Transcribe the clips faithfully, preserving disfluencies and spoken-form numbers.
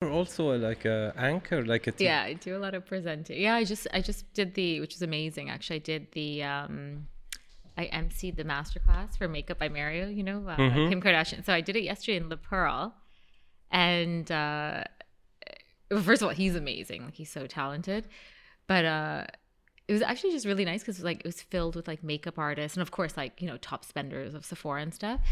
also like a anchor, like a. T- yeah, I do a lot of presenting. Yeah, I just I just did the, which is amazing. Actually, I did the. Um, I emceed the masterclass for Makeup by Mario. You know, uh, mm-hmm. Kim Kardashian. So I did it yesterday in Le Pearl, and uh, first of all, he's amazing. Like he's so talented, but. Uh, It was actually just really nice because like it was filled with like makeup artists and of course like, you know, top spenders of Sephora and stuff.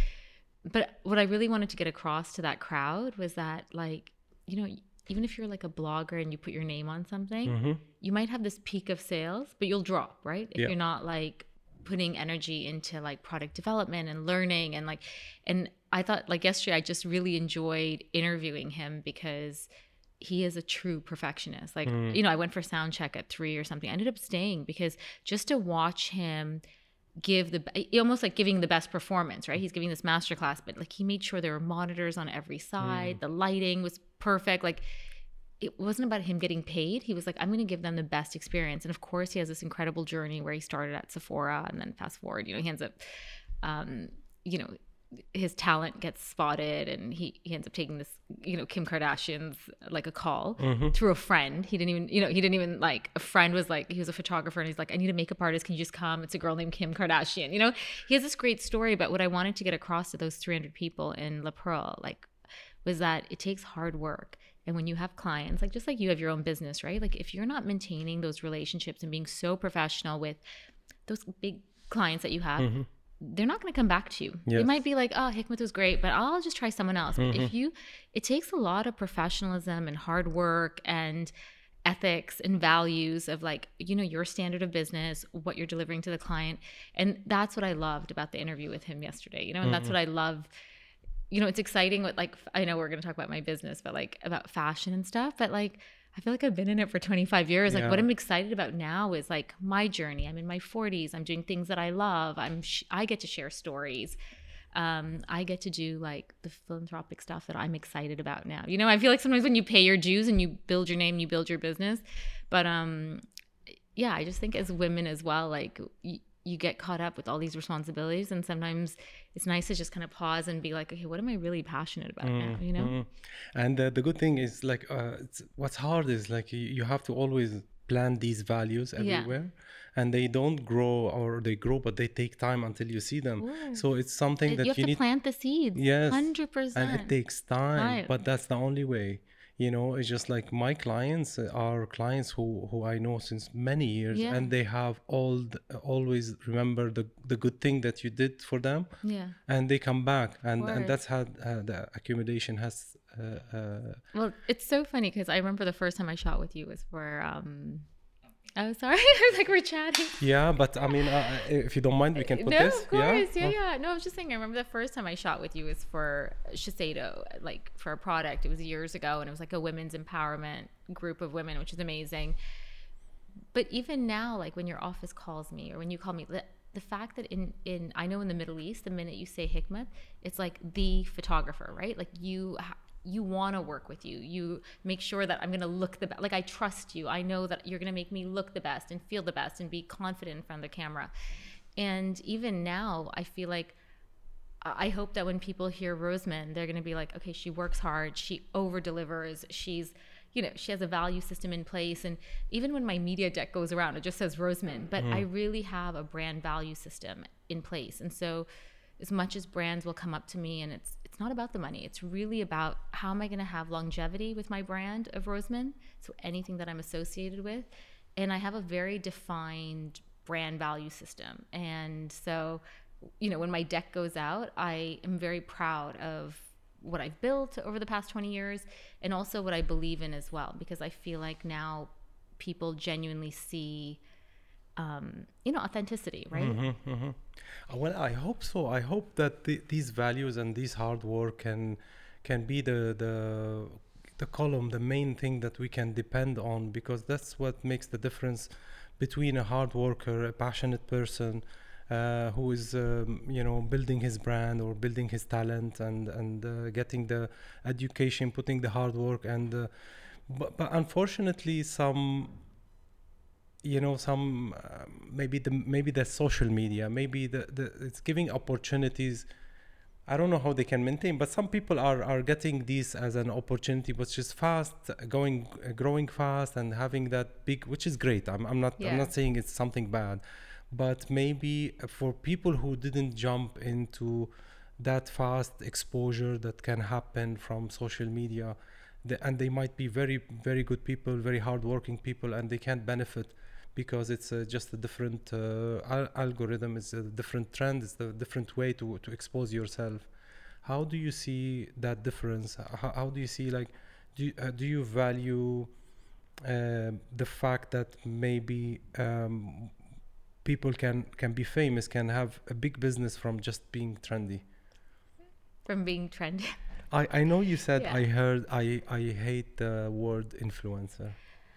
But what I really wanted to get across to that crowd was that like, you know, even if you're like a blogger and you put your name on something, mm-hmm. you might have this peak of sales, but you'll drop, right? If yeah. you're not like putting energy into like product development and learning and like, and I thought like yesterday, I just really enjoyed interviewing him because he is a true perfectionist. Like, mm. you know, I went for sound check at three or something. I ended up staying because just to watch him give the, almost like giving the best performance, right? He's giving this masterclass, but like he made sure there were monitors on every side. Mm. The lighting was perfect. Like it wasn't about him getting paid. He was like, I'm going to give them the best experience. And of course he has this incredible journey where he started at Sephora and then fast forward, you know, he ends up, um, you know, his talent gets spotted and he, he ends up taking this, you know, Kim Kardashian's like a call mm-hmm. through a friend. He didn't even, you know, he didn't even like, a friend was like, he was a photographer and he's like, I need a makeup artist. Can you just come? It's a girl named Kim Kardashian. You know, he has this great story, but what I wanted to get across to those three hundred people in Le Pearl, like, was that it takes hard work. And when you have clients, like just like you have your own business, right? Like if you're not maintaining those relationships and being so professional with those big clients that you have, mm-hmm. they're not going to come back to you. Yes. They might be like, oh, Hikmat was great, but I'll just try someone else. Mm-hmm. But if you, it takes a lot of professionalism and hard work and ethics and values of like, you know, your standard of business, what you're delivering to the client. And that's what I loved about the interview with him yesterday, you know, and mm-hmm. that's what I love. You know, it's exciting what like, I know we're going to talk about my business, but like about fashion and stuff, but like, I feel like I've been in it for twenty-five years. Like yeah. what I'm excited about now is like my journey. I'm in my forties. I'm doing things that I love. I'm, sh- I get to share stories. Um, I get to do like the philanthropic stuff that I'm excited about now. You know, I feel like sometimes when you pay your dues and you build your name, you build your business. But um, yeah, I just think as women as well, like y- you get caught up with all these responsibilities and sometimes it's nice to just kind of pause and be like, okay, what am I really passionate about mm, now, you know? Mm. And uh, the good thing is like, uh, it's, what's hard is like, you, you have to always plant these values everywhere yeah. and they don't grow or they grow, but they take time until you see them. Ooh. So it's something it, that you have you to need plant the seeds. Yes. one hundred percent. And it takes time, right. But that's the only way. You know, it's just like my clients are clients who, who I know since many years yeah. and they have all the, always remember the, the good thing that you did for them yeah. and they come back and, and that's how uh, the accumulation has uh, uh, well, it's so funny because I remember the first time I shot with you was for um oh sorry I was like we're chatting yeah but I mean uh, if you don't mind we can put no, this of course yeah yeah, oh. yeah no I was just saying I remember the first time I shot with you was for Shiseido, like for a product. It was years ago and it was like a women's empowerment group of women, which is amazing. But even now, like when your office calls me or when you call me, the, the fact that in in I know in the Middle East, the minute you say Hikmat, it's like the photographer, right? Like you ha- you want to work with you. You make sure that I'm going to look the best. Like I trust you. I know that you're going to make me look the best and feel the best and be confident in front of the camera. And even now, I feel like I hope that when people hear Roseman, they're going to be like, okay, she works hard. She over delivers. She's, you know, she has a value system in place. And even when my media deck goes around, it just says Roseman, but mm. I really have a brand value system in place. And so as much as brands will come up to me and it's it's not about the money, it's really about how am I going to have longevity with my brand of Roseman, so anything that I'm associated with. And I have a very defined brand value system. And so, you know, when my deck goes out, I am very proud of what I've built over the past twenty years and also what I believe in as well, because I feel like now people genuinely see Um, you know, authenticity, right? Mm-hmm, mm-hmm. Well, I hope so. I hope that the, these values and this hard work can can be the the the column, the main thing that we can depend on, because that's what makes the difference between a hard worker, a passionate person uh, who is, um, you know, building his brand or building his talent and and uh, getting the education, putting the hard work, and uh, but, but unfortunately some. You know, some uh, maybe the maybe the social media, maybe the, the it's giving opportunities I don't know how they can maintain, but some people are, are getting this as an opportunity, which is fast, going, uh, growing fast, and having that big, which is great. I'm, I'm not, Yeah. I'm not saying it's something bad, but maybe for people who didn't jump into that fast exposure that can happen from social media, the, and they might be very, very good people, very hardworking people, and they can't benefit because it's uh, just a different uh, al- algorithm, it's a different trend, it's a different way to, to expose yourself. How do you see that difference? How, how do you see, like, do you, uh, do you value uh, the fact that maybe um, people can, can be famous, can have a big business from just being trendy? From being trendy. I, I know you said, Yeah. I heard, I, I hate the word influencer.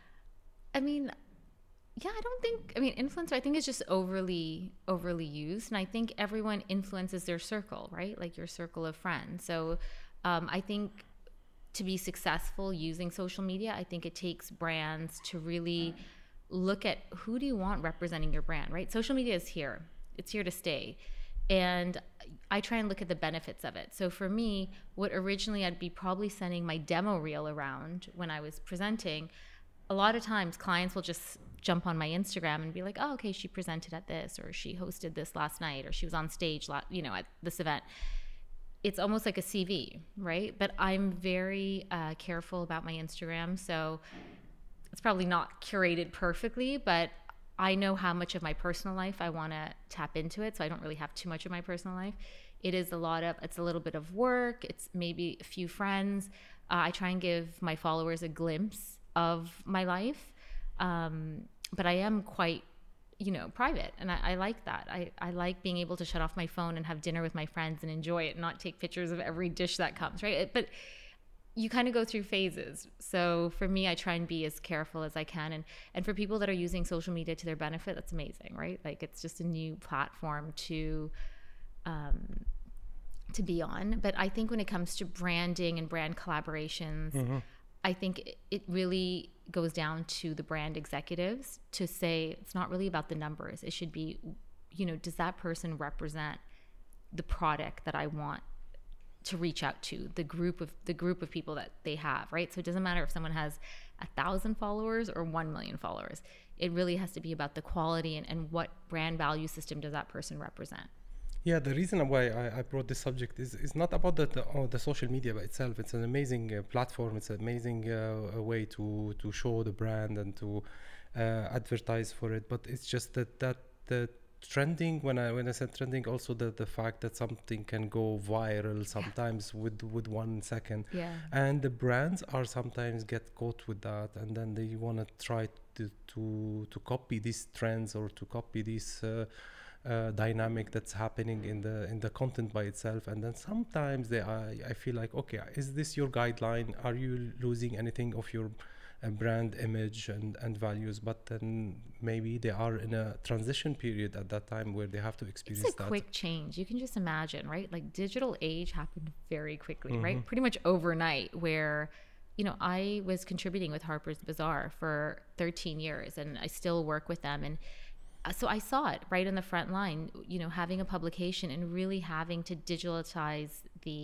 I mean, yeah, I don't think, I mean, influencer, I think is just overly, overly used. And I think everyone influences their circle, right? Like your circle of friends. So um, I think to be successful using social media, I think it takes brands to really look at who do you want representing your brand, right? Social media is here. It's here to stay. And I try and look at the benefits of it. So for me, what originally I'd be probably sending my demo reel around when I was presenting, a lot of times clients will just jump on my Instagram and be like, oh, okay, she presented at this, or she hosted this last night, or she was on stage, la- you know, at this event. It's almost like a C V, right? But I'm very uh, careful about my Instagram. So it's probably not curated perfectly, but I know how much of my personal life I want to tap into it. So I don't really have too much of my personal life. It is a lot of, it's a little bit of work. It's maybe a few friends. Uh, I try and give my followers a glimpse of my life. Um, but I am quite, you know, private. And I, I like that. I, I like being able to shut off my phone and have dinner with my friends and enjoy it and not take pictures of every dish that comes, right? It, but you kind of go through phases. So for me, I try and be as careful as I can. And, and for people that are using social media to their benefit, that's amazing, right? Like it's just a new platform to, um, to be on. But I think when it comes to branding and brand collaborations, mm-hmm. I think it, it really goes down to the brand executives to say, it's not really about the numbers. It should be, you know, does that person represent the product that I want to reach out to, the group of the group of people that they have, right? So it doesn't matter if someone has a thousand followers or one million followers. It really has to be about the quality and, and what brand value system does that person represent. Yeah, the reason why I, I brought this subject is, is not about the, the, oh, the social media by itself. It's an amazing uh, platform. It's an amazing uh, way to, to show the brand and to uh, advertise for it. But it's just that, that the trending, when I when I said trending, also the, the fact that something can go viral sometimes yeah. with, with one second. Yeah. And the brands are sometimes get caught with that, and then they want to try to, to, to copy these trends or to copy these uh, Uh, dynamic that's happening in the in the content by itself, and then sometimes they I, I feel like, okay, is this your guideline? Are you losing anything of your uh, brand image and and values? But then maybe they are in a transition period at that time where they have to experience that. It's a that. quick change. You can just imagine, right? Like digital age happened very quickly, mm-hmm. right? Pretty much overnight, where you know I was contributing with Harper's Bazaar for thirteen years, and I still work with them. And so I saw it right in the front line, you know, having a publication and really having to digitalize the,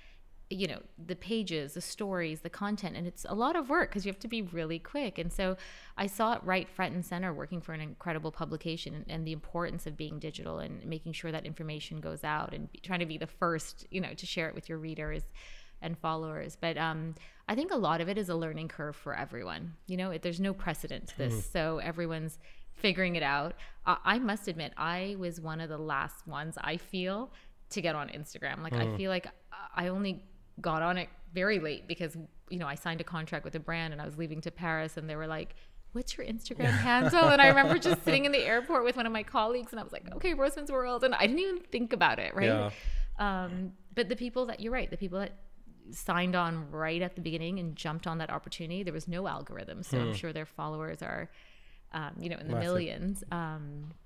you know, the pages, the stories, the content. And it's a lot of work because you have to be really quick. And so I saw it right front and center working for an incredible publication, and, and the importance of being digital and making sure that information goes out and be, trying to be the first, you know, to share it with your readers and followers. But um, I think a lot of it is a learning curve for everyone. You know, it, there's no precedent to this. Mm. So everyone's figuring it out. Uh, I must admit, I was one of the last ones, I feel, to get on Instagram. Like, mm. I feel like I only got on it very late because, you know, I signed a contract with a brand and I was leaving to Paris, and they were like, what's your Instagram handle? And I remember just sitting in the airport with one of my colleagues, and I was like, okay, Roseman's World. And I didn't even think about it, right? Yeah. Um, but the people that, you're right, the people that signed on right at the beginning and jumped on that opportunity, there was no algorithm. So mm. I'm sure their followers are, Um, you know, in the Massive. millions. Um,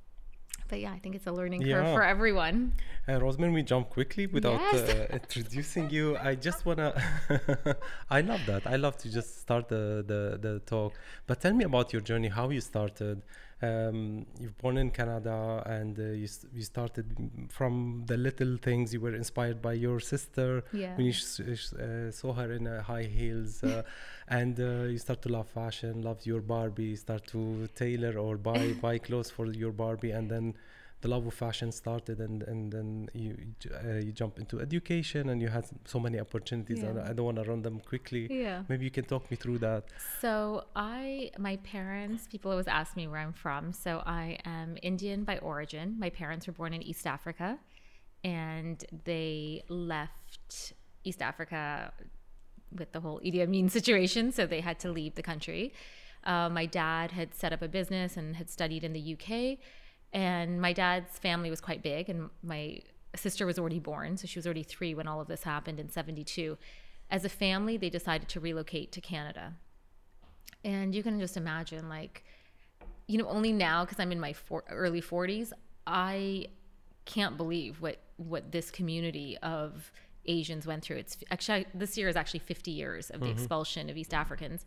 but yeah, I think it's a learning yeah. curve for everyone. Uh, Roseman, we jump quickly without yes. uh, introducing you. I just want to, I love that. I love to just start the, the, the talk. But tell me about your journey, how you started, Um, you're born in Canada, and uh, you s- you started from the little things. You were inspired by your sister Yeah. when you sh- sh- uh, saw her in uh, high heels, uh, and uh, you start to love fashion, love your Barbie, start to tailor or buy buy clothes for your Barbie, and then the love of fashion started, and and then you j- uh, you jump into education, and you had so many opportunities. And Yeah. I don't want to run them quickly. Yeah. Maybe you can talk me through that. So I, my parents, people always ask me where I'm from. So I am Indian by origin. My parents were born in East Africa, and they left East Africa with the whole Idi Amin situation. So they had to leave the country. Uh, my dad had set up a business and had studied in the U K. And my dad's family was quite big, and my sister was already born. So she was already three when all of this happened in seventy-two. As a family, they decided to relocate to Canada. And you can just imagine, like, you know, only now, because I'm in my for- early forties, I can't believe what, what this community of Asians went through. It's actually, this year is actually fifty years of the Mm-hmm. expulsion of East Africans.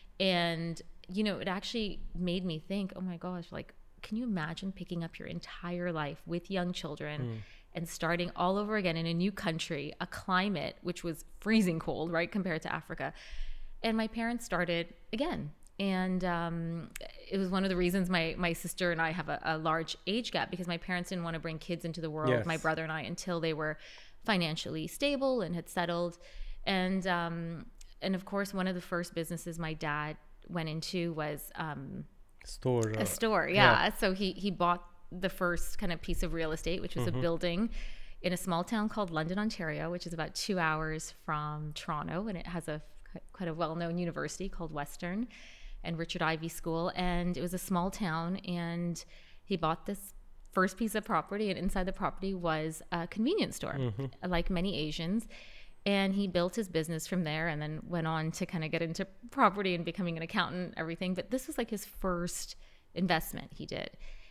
And, you know, it actually made me think, oh my gosh, like, can you imagine picking up your entire life with young children Mm. and starting all over again in a new country, a climate which was freezing cold, right, compared to Africa? And my parents started again. And um, it was one of the reasons my, my sister and I have a, a large age gap, because my parents didn't want to bring kids into the world, Yes. my brother and I, until they were financially stable and had settled. And, um, and of course, one of the first businesses my dad went into was um, Store. Uh, a store. Yeah. yeah. So he, he bought the first kind of piece of real estate, which was mm-hmm. a building in a small town called London, Ontario, which is about two hours from Toronto. And it has a quite a well-known university called Western and Richard Ivey School. And it was a small town, and he bought this first piece of property, and inside the property was a convenience store, mm-hmm. like many Asians. And he built his business from there, and then went on to kind of get into property and becoming an accountant and everything. But this was like his first investment he did.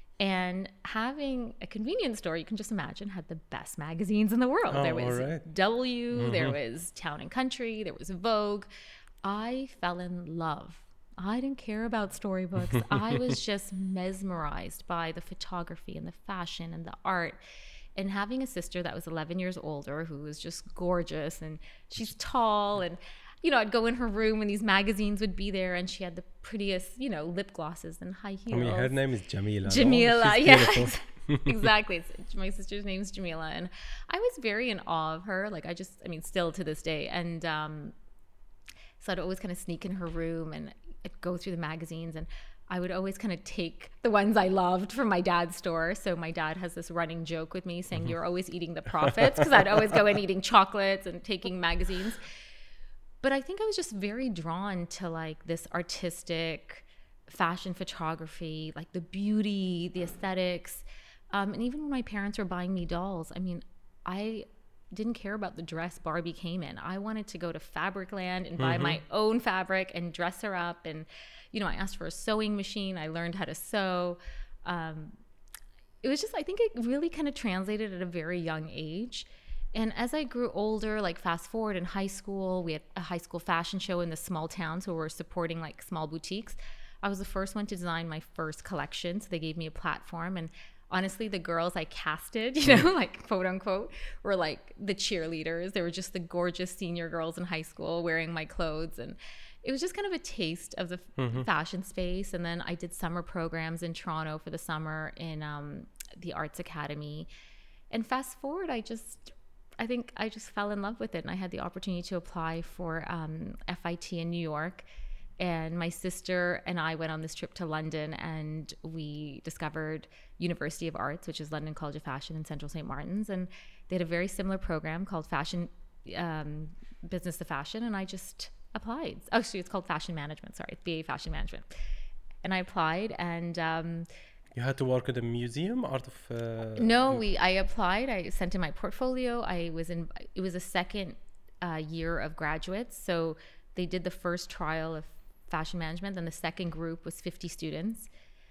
And having a convenience store, you can just imagine, had the best magazines in the world. Oh, there was right. W, mm-hmm. there was Town and Country, there was Vogue. I fell in love. I didn't care about storybooks. I was just mesmerized by the photography and the fashion and the art. And having a sister that was eleven years older, who was just gorgeous, and she's tall, and, you know, I'd go in her room and these magazines would be there, and she had the prettiest, you know, lip glosses and high heels. I mean, her name is Jamila. Jamila, no? yeah. Exactly. It's, my sister's name's Jamila. And I was very in awe of her. Like, I just, I mean, still to this day. And um, so I'd always kind of sneak in her room and I'd go through the magazines, and I would always kind of take the ones I loved from my dad's store. So my dad has this running joke with me saying, mm-hmm. you're always eating the profits, because I'd always go in eating chocolates and taking magazines. But I think I was just very drawn to like this artistic fashion photography, like the beauty, the aesthetics. Um, and even when my parents were buying me dolls, I mean, I didn't care about the dress Barbie came in. I wanted to go to Fabricland and buy mm-hmm. my own fabric and dress her up. And, you know, I asked for a sewing machine. I learned how to sew. Um, it was just, I think it really kind of translated at a very young age. And as I grew older, like fast forward in high school, we had a high school fashion show in this small town. So we're supporting like small boutiques. I was the first one to design my first collection. So they gave me a platform, and honestly, the girls I casted, you know, like quote unquote, were like the cheerleaders. They were just the gorgeous senior girls in high school wearing my clothes. And it was just kind of a taste of the mm-hmm. fashion space. And then I did summer programs in Toronto for the summer in um, the Arts Academy. And fast forward, I just, I think I just fell in love with it. And I had the opportunity to apply for um, F I T in New York. And my sister and I went on this trip to London, and we discovered University of Arts, which is London College of Fashion in Central Saint Martin's. And they had a very similar program called Fashion, um, Business to Fashion. And I just applied. Oh, actually, it's called Fashion Management. Sorry, B A Fashion Management. And I applied, and um, you had to work at a museum, art of. Uh, no, we. I applied. I sent in my portfolio. I was in. It was a second uh, year of graduates, so they did the first trial of fashion management. Then the second group was fifty students,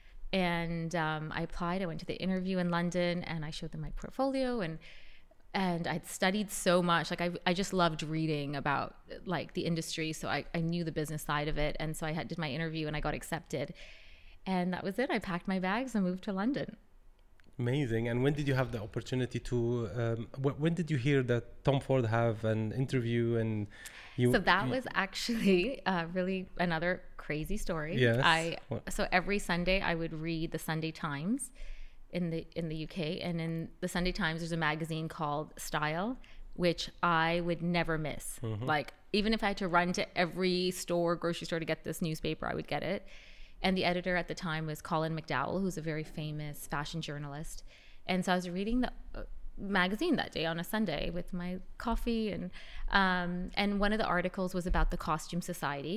and um, I applied. I went to the interview in London, and I showed them my portfolio, and and I'd studied so much. Like I, I just loved reading about like the industry, so I, I knew the business side of it, and so I had did my interview, and I got accepted. And that was it. I packed my bags and moved to London. Amazing. And when did you have the opportunity to, um, wh- when did you hear that Tom Ford have an interview and you? So that you, was actually uh, really another crazy story. Yes. I What? so every Sunday I would read the Sunday Times in the in the U K, and in the Sunday Times there's a magazine called Style, which I would never miss. Mm-hmm. Like even if I had to run to every store, grocery store to get this newspaper, I would get it. And the editor at the time was Colin McDowell, who's a very famous fashion journalist. And so I was reading the uh, magazine that day on a Sunday with my coffee, and um, and one of the articles was about the Costume Society.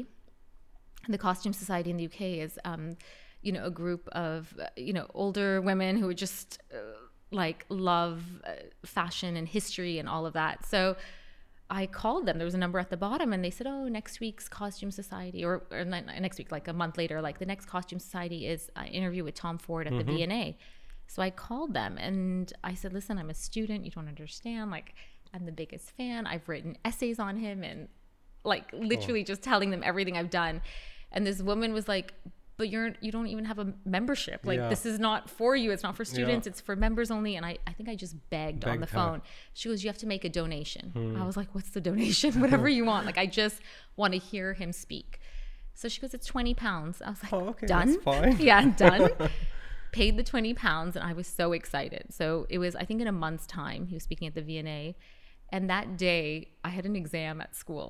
And the Costume Society in the U K is, um, you know, a group of uh, you know older women who just uh, like love uh, fashion and history and all of that. So I called them. There was a number at the bottom, and they said, "Oh, next week's Costume Society, or, or next week, like a month later, like the next Costume Society is an interview with Tom Ford at Mm-hmm. the V and A." So I called them and I said, "Listen, I'm a student. You don't understand. Like, I'm the biggest fan. I've written essays on him, and like literally Oh. just telling them everything I've done." And this woman was like, "But you're you don't even have a membership. Like Yeah. this is not for you. It's not for students. Yeah. It's for members only." And I, I think I just begged, on Begged the her. phone. She goes, "You have to make a donation." Hmm. I was like, "What's the donation?" "Whatever you want. Like I just want to hear him speak." So she goes, "It's twenty pounds." I was like, Oh, okay, "Done." that's fine. Yeah, done. Paid the twenty pounds, and I was so excited. So it was, I think, in a month's time. He was speaking at the V and A, and that day I had an exam at school.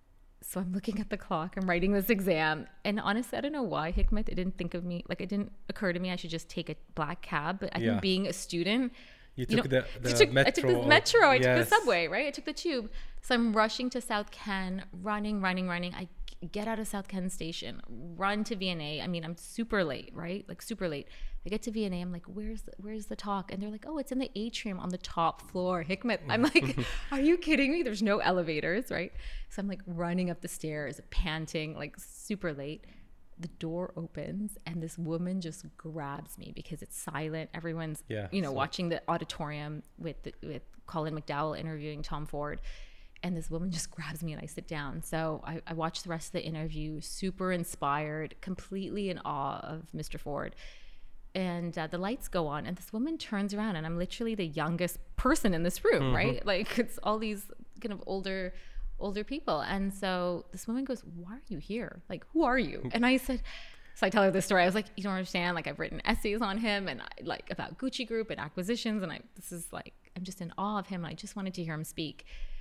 So I'm looking at the clock, I'm writing this exam, and honestly, I don't know why, Hikmet, it didn't think of me, like it didn't occur to me I should just take a black cab. But I Yeah. think being a student, You you took know, the, the I took, metro. I took the metro, I took Yes. the subway, right? I took the tube. So I'm rushing to South Ken, running, running, running. I get out of South Ken station, run to V and A. I mean, I'm super late, right? Like super late. I get to V and A, I'm like, where's the, where's the talk? And they're like, "Oh, it's in the atrium on the top floor." Hikmet, I'm like, "Are you kidding me? There's no elevators," right? So I'm like running up the stairs, panting, like super late. The door opens and this woman just grabs me because it's silent. Everyone's, Yeah, you know, so- watching the auditorium with the, with Colin McDowell interviewing Tom Ford. And this woman just grabs me and I sit down. So I, I watched the rest of the interview, super inspired, completely in awe of Mister Ford. And uh, the lights go on and this woman turns around and I'm literally the youngest person in this room, Mm-hmm. right? Like it's all these kind of older older people. And so this woman goes, "Why are you here? Like, who are you?" And I said, so I tell her this story. I was like, "You don't understand. Like, I've written essays on him and I, like about Gucci Group and acquisitions. And I, this is like, I'm just in awe of him. And I just wanted to hear him speak."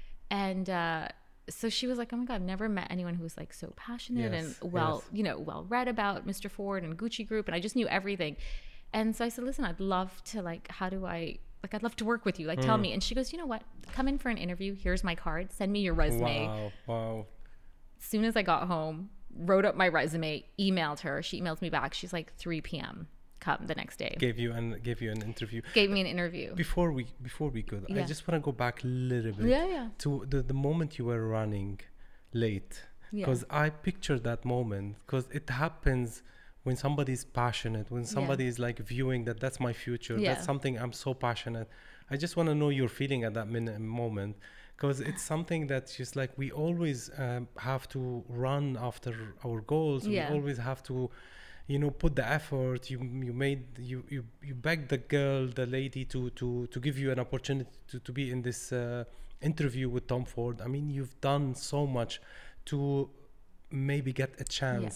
And uh, so she was like, "Oh my God, I've never met anyone who was like so passionate Yes, and well, yes. you know, well read about Mister Ford and Gucci Group." And I just knew everything. And so I said, "Listen, I'd love to like, how do I, like, I'd love to work with you. Like, tell me." And she goes, "You know what? Come in for an interview. Here's my card. Send me your resume." Wow, wow. As soon as I got home, wrote up my resume, emailed her. She emails me back. She's like, three p.m. come the next day. Gave you an gave you an interview. Gave me an interview. Before we before we go, I Yeah. just want to go back a little bit Yeah, yeah. to the, the moment you were running late, Yeah. because I pictured that moment because it happens when somebody's passionate, when somebody is like viewing that that's my future, Yeah. that's something I'm so passionate. I just want to know your feeling at that minute, moment, because it's something that's just like we always um, have to run after our goals. Yeah. We always have to, you know, put the effort. You you made you you you begged the girl, the lady, to to to give you an opportunity to to be in this uh, interview with Tom Ford. I mean, you've done so much to maybe get a chance.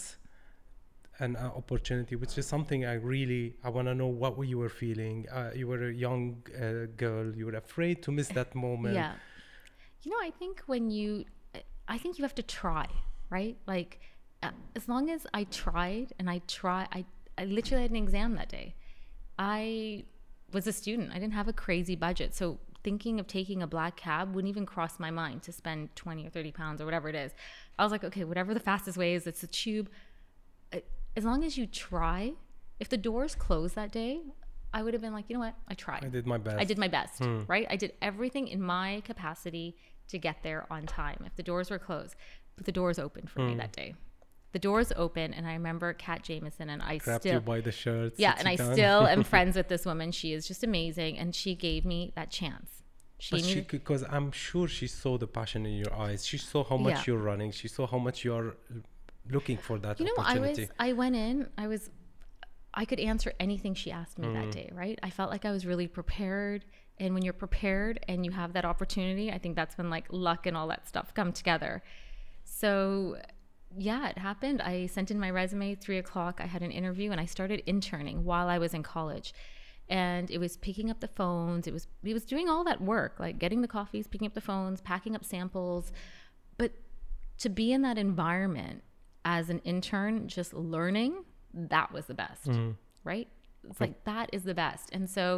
An uh, opportunity, which is something I really I want to know what you were feeling. Uh, you were a young uh, girl. You were afraid to miss that moment. Yeah. You know, I think when you, I think you have to try, right? Like, uh, as long as I tried and I try, I, I literally had an exam that day. I was a student. I didn't have a crazy budget. So thinking of taking a black cab wouldn't even cross my mind to spend twenty or thirty pounds or whatever it is. I was like, okay, whatever the fastest way is, it's a tube. As long as you try, if the doors closed that day, I would have been like, you know what? I tried. I did my best. I did my best, right? I did everything in my capacity to get there on time. If the doors were closed, but the doors opened for me that day. The doors open, and I remember Kat Jameson, and I Grabbed still, you by the shirt. yeah, sit and you I down. still am friends with this woman. She is just amazing, and she gave me that chance. She But she, knew, because I'm sure she saw the passion in your eyes. She saw how much Yeah. you're running. She saw how much you're looking for that you know, I opportunity. was, I went in, I was I could answer anything she asked me mm. that day, right? I felt like I was really prepared. And when you're prepared and you have that opportunity, I think that's when like luck and all that stuff come together. So yeah, it happened. I sent in my resume, three o'clock. I had an interview and I started interning while I was in college. And it was picking up the phones. It was, it was doing all that work, like getting the coffees, picking up the phones, packing up samples. But to be in that environment as an intern, just learning, that was the best, mm-hmm. right? It's like, that is the best. And so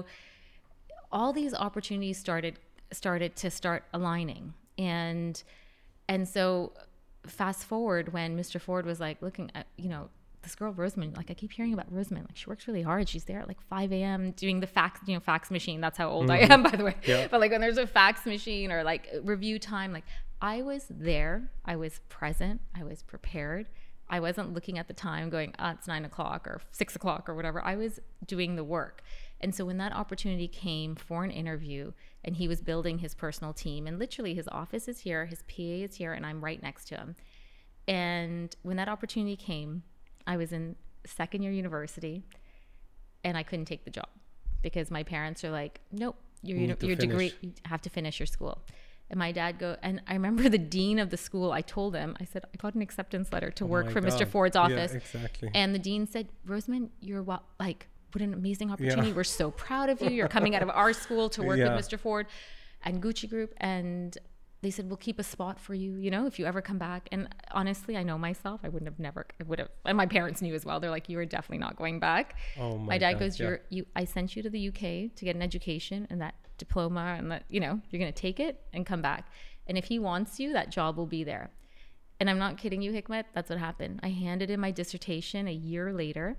all these opportunities started, started to start aligning. And, and so fast forward when Mister Ford was like looking at, you know, this girl Rosamond, like I keep hearing about Rosamond, like she works really hard. She's there at like five a.m. doing the fax, you know, fax machine. That's how old mm-hmm. I am, by the way. Yeah. But like when there's a fax machine or like review time, like I was there, I was present, I was prepared. I wasn't looking at the time going, oh, it's nine o'clock or six o'clock or whatever. I was doing the work. And so when that opportunity came for an interview and he was building his personal team, and literally his office is here, his P A is here, and I'm right next to him. And when that opportunity came, I was in second year university and I couldn't take the job because my parents are like, nope, your, you your degree, you have to finish your school. And my dad go, and I remember the dean of the school, I told him, I said, I got an acceptance letter to oh work for God. Mister Ford's office. Yeah, exactly. And the dean said, Rosamond, you're what, like, what an amazing opportunity. Yeah. We're so proud of you. You're coming out of our school to work yeah. with Mister Ford and Gucci Group. And they said, we'll keep a spot for you, you know, if you ever come back. And honestly, I know myself, I wouldn't have never, I would have, and my parents knew as well. They're like, you are definitely not going back. Oh my, my dad God, goes, yeah. you're, you, I sent you to the U K to get an education and that diploma and that, you know, you're going to take it and come back. And if he wants you, that job will be there. And I'm not kidding you, Hikmet. That's what happened. I handed in my dissertation a year later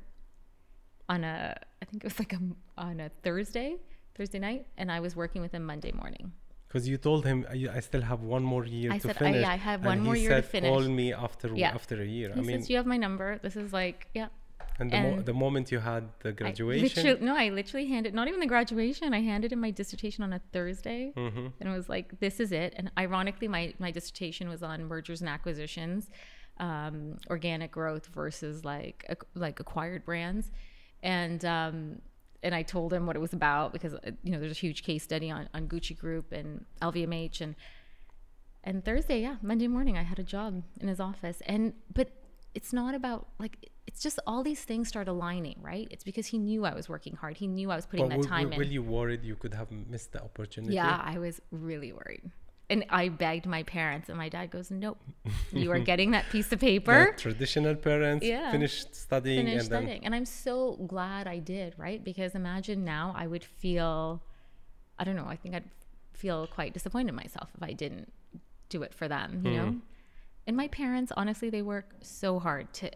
on a, I think it was like a, on a Thursday, Thursday night. And I was working with him Monday morning. Because you told him, I, I still have one more year I to said, finish. I, yeah, I have one and more he year said, to finish. Call me after yeah. after a year. He I mean, says, you have my number. This is like, yeah. And the, and mo- the moment you had the graduation? I no, I literally handed, not even the graduation, I handed in my dissertation on a Thursday. Mm-hmm. And it was like, this is it. And ironically, my, my dissertation was on mergers and acquisitions, um, organic growth versus like ac- like acquired brands. And um, and I told him what it was about because, you know, there's a huge case study on, on Gucci Group and L V M H. And, and Thursday, yeah, Monday morning, I had a job in his office. And but it's not about like... It's just all these things start aligning, right? It's because he knew I was working hard. He knew I was putting but that time in. Were you worried you could have missed the opportunity? Yeah, I was really worried. And I begged my parents and my dad goes, nope, you are getting that piece of paper. The traditional parents yeah. finished studying. Finished and studying. Then... And I'm so glad I did, right? Because imagine now I would feel, I don't know, I think I'd feel quite disappointed in myself if I didn't do it for them, you mm. know? And my parents, honestly, they work so hard to...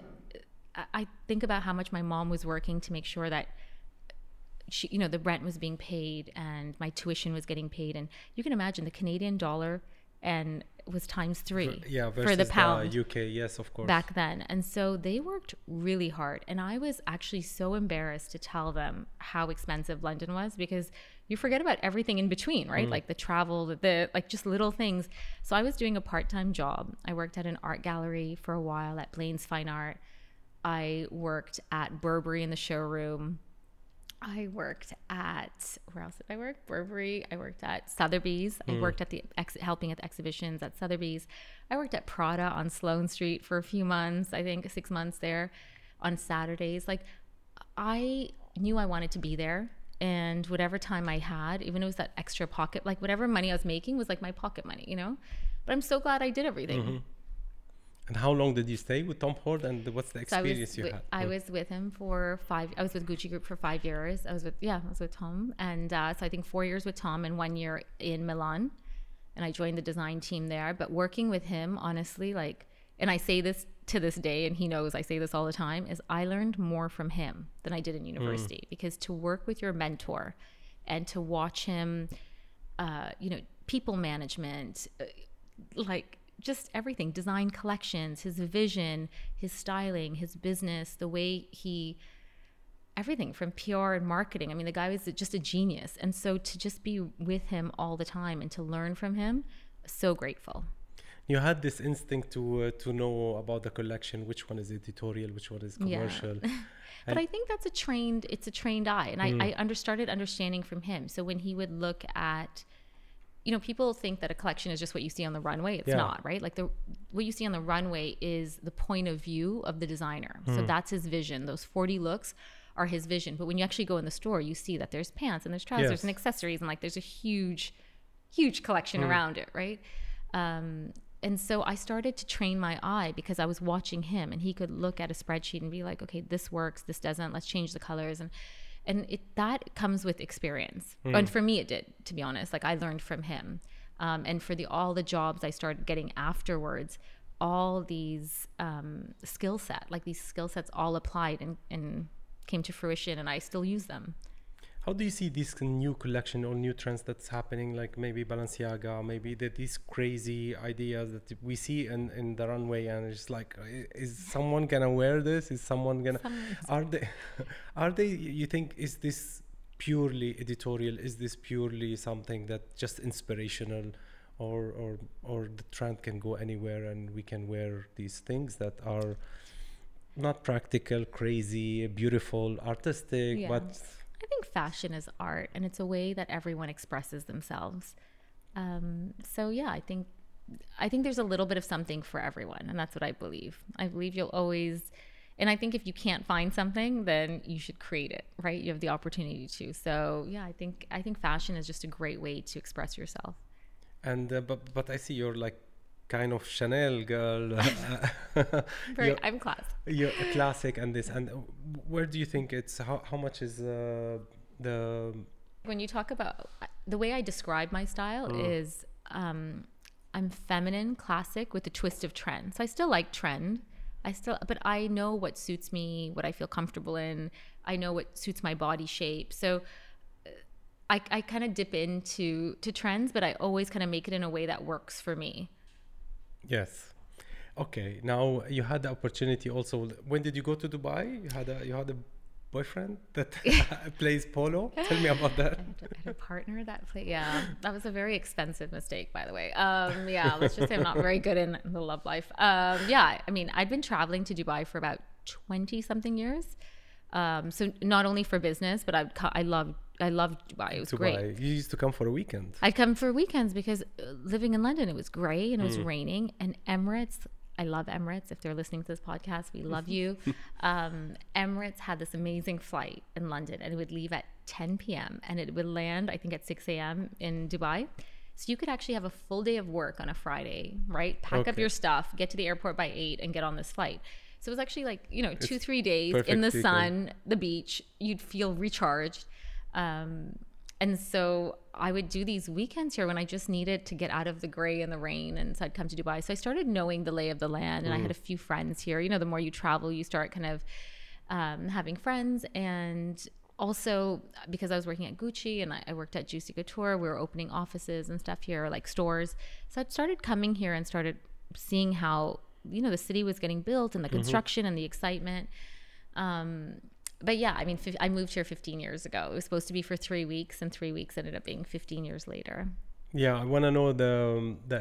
I think about how much my mom was working to make sure that she, you know, the rent was being paid and my tuition was getting paid. And you can imagine the Canadian dollar and was times three yeah, for the pound. The U K, yes, of course. Back then. And so they worked really hard. And I was actually so embarrassed to tell them how expensive London was because you forget about everything in between, right? Mm. Like the travel, the, the like just little things. So I was doing a part-time job. I worked at an art gallery for a while at Blaine's Fine Art. I worked at Burberry in the showroom. I worked at, where else did I work? Burberry. I worked at Sotheby's. Mm. I worked at the, ex, helping at the exhibitions at Sotheby's. I worked at Prada on Sloane Street for a few months, I think six months there on Saturdays. Like I knew I wanted to be there. And whatever time I had, even if it was that extra pocket, like whatever money I was making was like my pocket money, you know? But I'm so glad I did everything. Mm-hmm. And how long did you stay with Tom Ford and what's the experience so you with, had? I was with him for five, I was with Gucci Group for five years. I was with, yeah, I was with Tom. And uh, so I think four years with Tom and one year in Milan. And I joined the design team there. But working with him, honestly, like, and I say this to this day, and he knows I say this all the time, is I learned more from him than I did in university. Mm. Because to work with your mentor and to watch him, uh, you know, people management, uh, like, just everything, design collections, his vision, his styling, his business, the way he, everything from P R and marketing. I mean, the guy was just a genius. And so to just be with him all the time and to learn from him, so grateful. you had this instinct to uh, to know about the collection, which one is editorial, which one is commercial. Yeah. But I think that's a trained, it's a trained eye. And Mm. I, I under, started understanding from him. So when he would look at, you know, people think that a collection is just what you see on the runway. It's Yeah. not, right? Like the what you see on the runway is the point of view of the designer. So that's his vision. Those forty looks are his vision. But when you actually go in the store, you see that there's pants and there's trousers Yes. and accessories, and like there's a huge, huge collection Mm. around it, right? Um, and so I started to train my eye because I was watching him, and he could look at a spreadsheet and be like, okay, this works, this doesn't, let's change the colors. And and it that comes with experience. Mm. And for me it did, to be honest. Like I learned from him. Um, and for the all the jobs I started getting afterwards, all these um, skill set, like these skill sets all applied and, and came to fruition, and I still use them. How do you see this new collection or new trends that's happening, like maybe Balenciaga, maybe the, these crazy ideas that we see in, in the runway, and it's like, i- is someone gonna wear this? Is someone gonna? Someone's- Are they? Are they? You think is this purely editorial? Is this purely something that just inspirational, or or or the trend can go anywhere and we can wear these things that are not practical, crazy, beautiful, artistic, Yeah. but I think fashion is art, and it's a way that everyone expresses themselves. Um, so yeah, I think I think there's a little bit of something for everyone, and that's what I believe. I believe you'll always, and I think if you can't find something, then you should create it, right? You have the opportunity to. So yeah, I think I think fashion is just a great way to express yourself. And uh, but but I see you're like kind of Chanel girl. Very, you're, I'm class. you're a classic and this. And uh, where do you think it's how how much is uh, the When you talk about the way I describe my style is um, I'm feminine, classic with a twist of trend. So I still like trend. I still, but I know what suits me, what I feel comfortable in. I know what suits my body shape. So uh, I, I kind of dip into to trends, but I always kind of make it in a way that works for me. yes. Okay, now you had the opportunity also. When did you go to Dubai? You had a you had a boyfriend that plays polo. Tell me about that. I had a partner that played. Yeah, that was a very expensive mistake, by the way. Um, yeah, let's just say I'm not very good in the love life. Um, yeah, I mean, I'd been traveling to Dubai for about twenty something years. Um, so not only for business, but I I loved I loved Dubai. It was Dubai. great. You used to come for a weekend. I'd come for weekends because uh, living in London, it was gray and it was Mm. raining. And Emirates, I love Emirates. If they're listening to this podcast, we love you. um, Emirates had this amazing flight in London, and it would leave at ten p.m. and it would land, I think, at six a.m. in Dubai. So you could actually have a full day of work on a Friday, right? Pack up Okay. your stuff, get to the airport by eight, and get on this flight. So it was actually like, you know, two, It's three days in the perfect sun, the beach. You'd feel recharged. Um, and so I would do these weekends here when I just needed to get out of the gray and the rain. And so I'd come to Dubai. So I started knowing the lay of the land, and I had a few friends here. You know, the more you travel, you start kind of um, having friends. And also because I was working at Gucci and I, I worked at Juicy Couture, we were opening offices and stuff here, like stores. So I started coming here and started seeing how, you know, the city was getting built and the construction and the excitement. Um, but yeah, I mean, fif- I moved here fifteen years ago. It was supposed to be for three weeks, and three weeks ended up being fifteen years later. Yeah, I want to know the um, the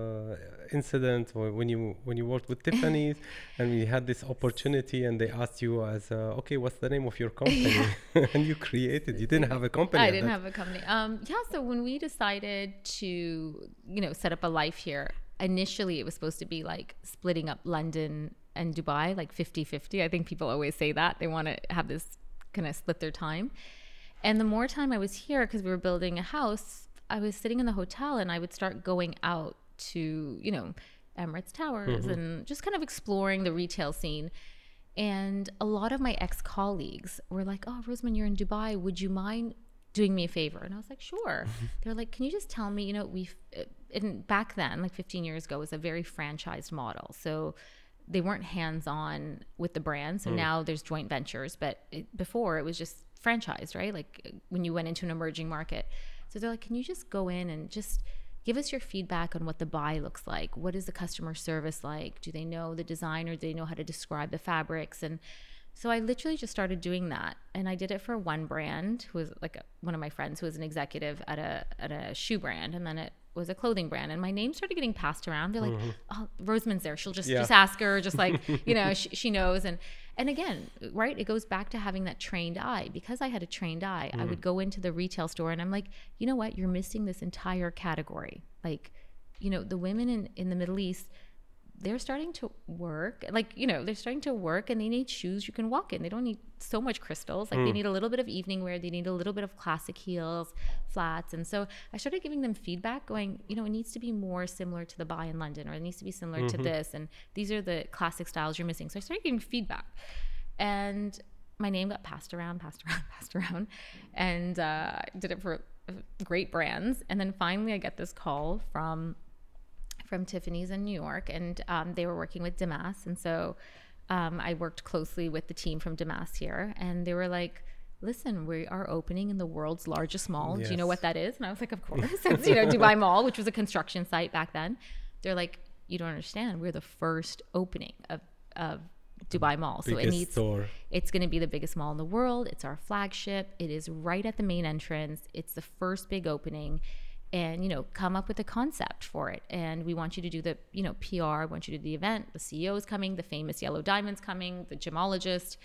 uh, incident or when you when you worked with Tiffany's and we had this opportunity and they asked you as uh, okay, what's the name of your company? And you created. You didn't have a company. I at didn't that- have a company. Um, yeah, so when we decided to, you know, set up a life here, initially it was supposed to be like splitting up London and Dubai, like fifty-fifty. I think people always say that. They want to have this kind of split their time. And the more time I was here, because we were building a house, I was sitting in the hotel and I would start going out to, you know, Emirates Towers and just kind of exploring the retail scene. And a lot of my ex-colleagues were like, oh, Rosamond, you're in Dubai. Would you mind doing me a favor? And I was like, sure. They're like, can you just tell me, you know, we've, and back then, like fifteen years ago, it was a very franchised model. So they weren't hands-on with the brand. So now there's joint ventures. But it, before, it was just franchised, right? Like when you went into an emerging market. So they're like, can you just go in and just give us your feedback on what the buy looks like? What is the customer service like? Do they know the designer? Do they know how to describe the fabrics? And so I literally just started doing that. And I did it for one brand who was like a, one of my friends who was an executive at a at a shoe brand. And then it was a clothing brand, and my name started getting passed around. They're like, mm-hmm. oh, Rosamund's there. She'll just, yeah. just ask her, just like, you know, she, she knows. And, and again, right, it goes back to having that trained eye. Because I had a trained eye, mm. I would go into the retail store and I'm like, you know what, you're missing this entire category. Like, you know, the women in, in the Middle East, they're starting to work, like, you know, they're starting to work and they need shoes you can walk in. They don't need so much crystals. Like mm. they need a little bit of evening wear. They need a little bit of classic heels, flats. And so I started giving them feedback going, you know, it needs to be more similar to the buy in London, or it needs to be similar mm-hmm. to this. And these are the classic styles you're missing. So I started giving feedback, and my name got passed around, passed around, passed around. And uh, I did it for great brands. And then finally I get this call from from Tiffany's in New York, and um, they were working with Damas. And so um, I worked closely with the team from Damas here, and they were like, listen, we are opening in the world's largest mall. Yes. Do you know what that is? And I was like, of course. It's, you know, Dubai Mall, which was a construction site back then. They're like, you don't understand. We're the first opening of, of Dubai Mall. So biggest it needs, store. It's going to be the biggest mall in the world. It's our flagship. It is right at the main entrance. It's the first big opening. And, you know, come up with a concept for it. And we want you to do the, you know, P R. I want you to do the event. The C E O is coming. The famous Yellow Diamond's coming. The gemologist.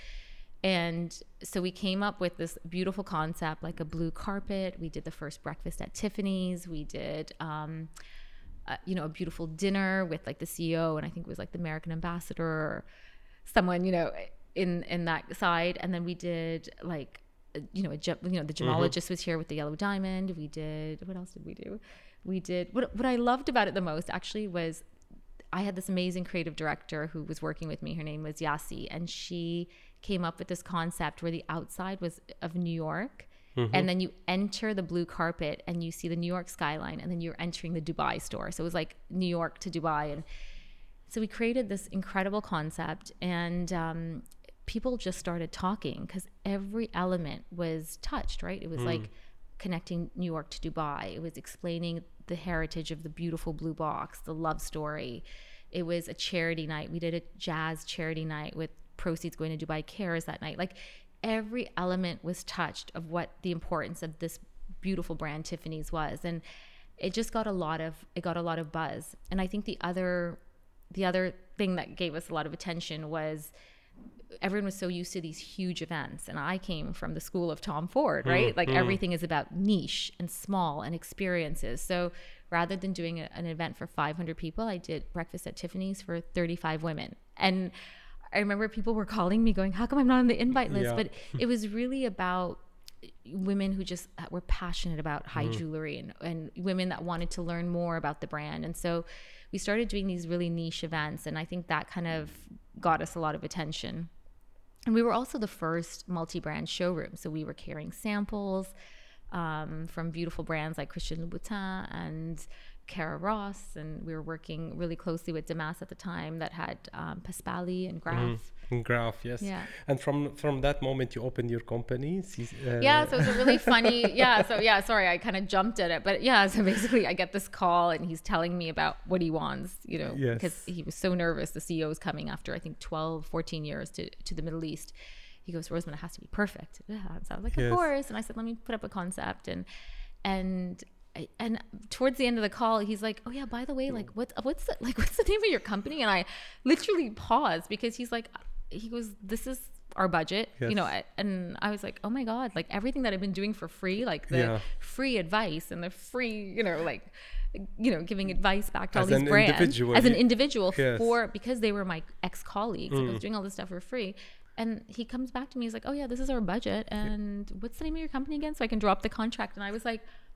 And so we came up with this beautiful concept, like a blue carpet. We did the first breakfast at Tiffany's. We did, um, uh, you know, a beautiful dinner with like the C E O. And I think it was like the American ambassador or someone, you know, in, in that side. And then we did like, you know, a, you know, the gemologist mm-hmm. was here with the Yellow Diamond. We did, what else did we do? We did, what, what I loved about it the most actually was I had this amazing creative director who was working with me. Her name was Yassi, and she came up with this concept where the outside was of New York. Mm-hmm. And then you enter the blue carpet and you see the New York skyline, and then you're entering the Dubai store. So it was like New York to Dubai. And so we created this incredible concept, and, um, people just started talking because every element was touched, right? It was mm. like connecting New York to Dubai. It was explaining the heritage of the beautiful blue box, the love story. It was a charity night. We did a jazz charity night with proceeds going to Dubai Cares that night. Like every element was touched of what the importance of this beautiful brand Tiffany's was. And it just got a lot of, it got a lot of buzz. And I think the other, the other thing that gave us a lot of attention was everyone was so used to these huge events, and I came from the school of Tom Ford, right? Mm, like mm. everything is about niche and small and experiences. So rather than doing a, an event for five hundred people, I did breakfast at Tiffany's for thirty-five women. And I remember people were calling me going, how come I'm not on the invite list? Yeah. But it was really about women who just were passionate about high mm. jewelry, and, and women that wanted to learn more about the brand. And so we started doing these really niche events, and I think that kind of got us a lot of attention. And we were also the first multi-brand showroom. So we were carrying samples um, from beautiful brands like Christian Louboutin and Kara Ross. And we were working really closely with Damas at the time that had um, Pasquale and Graf. Mm-hmm. And Graf, yes. Yeah. And from, from that moment, you opened your company. Uh, yeah, so it was a really funny, yeah, so yeah, sorry, I kind of jumped at it. But yeah, so basically I get this call and he's telling me about what he wants, you know, yes. because he was so nervous. The C E O is coming after, I think, twelve, fourteen years to, to the Middle East. He goes, Rosamund, it has to be perfect. Yeah. So I was like, of yes. course. And I said, let me put up a concept. And, and, and towards the end of the call, he's like, oh yeah, by the way, like what's, what's the, like, what's the name of your company? And I literally paused because he's like, he goes, this is our budget, yes. you know, and I was like, oh my God, like everything that I've been doing for free, like the yeah. free advice and the free, you know, like, you know, giving advice back to as all these brands individual. as an individual yes. for, because they were my ex-colleagues. Mm. I was doing all this stuff for free. And he comes back to me, he's like, oh yeah, this is our budget. And yeah. what's the name of your company again? So I can drop the contract. And I was like,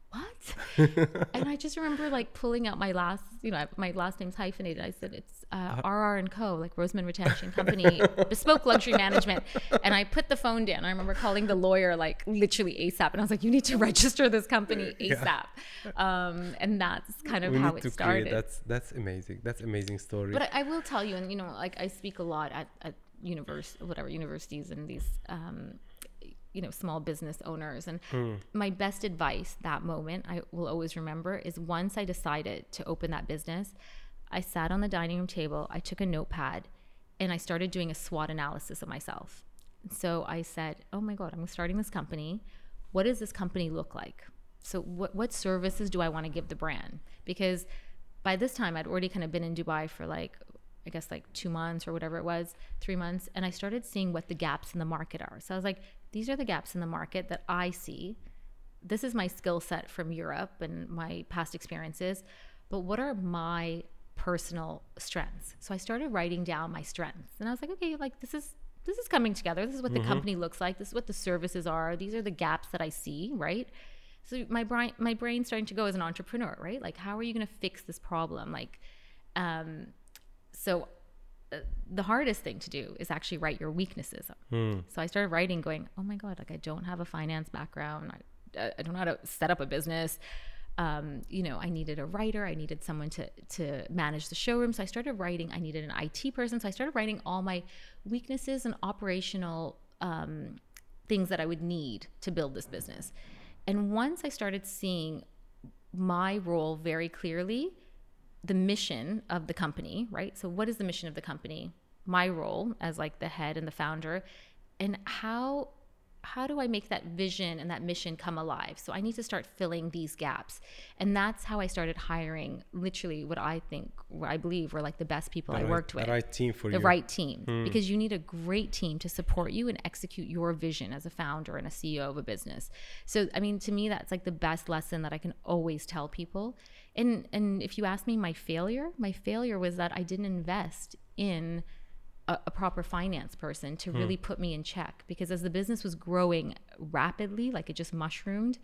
what? And I just remember like pulling out my last, you know, my last name's hyphenated. I said, it's uh, R R and Co, like Rosamund Retention Company, Bespoke Luxury Management. And I put the phone down. I remember calling the lawyer like literally ASAP. And I was like, you need to register this company ASAP. Yeah. Um, and that's kind of we how need it to started. Create, that's, that's amazing. That's amazing story. But I, I will tell you, and you know, like I speak a lot at, at univers- whatever universities and these, um, you know, small business owners. And mm. my best advice that moment, I will always remember, is once I decided to open that business, I sat on the dining room table, I took a notepad, and I started doing a SWOT analysis of myself. So I said, oh my God, I'm starting this company. What does this company look like? so what what services do I want to give the brand? Because by this time I'd already kind of been in Dubai for like, I guess like two months or whatever it was, three months. And I started seeing what the gaps in the market are. So I was like, these are the gaps in the market that I see. This is my skill set from Europe and my past experiences, but what are my personal strengths? So I started writing down my strengths, and I was like, okay, like this is, this is coming together. This is what the mm-hmm. company looks like. This is what the services are. These are the gaps that I see, right? So my brain, my brain's starting to go as an entrepreneur, right? Like, how are you going to fix this problem? Like, um, so uh, the hardest thing to do is actually write your weaknesses. Mm. So I started writing going, oh my God, like I don't have a finance background. I, I don't know how to set up a business. Um, you know, I needed a writer. I needed someone to, to manage the showroom. So I started writing, I needed an I T person. So I started writing all my weaknesses and operational um, things that I would need to build this business. And once I started seeing my role very clearly, the mission of the company, right? So what is the mission of the company? My role as like the head and the founder, and how how do I make that vision and that mission come alive? So I need to start filling these gaps. And that's how I started hiring literally what I think, what I believe were like the best people the I right, worked with. The right team for the you. The right team. Hmm. Because you need a great team to support you and execute your vision as a founder and a C E O of a business. So, I mean, to me, that's like the best lesson that I can always tell people. And, and if you ask me my failure, my failure was that I didn't invest in A, a proper finance person to hmm. really put me in check, because as the business was growing rapidly, like it just mushroomed,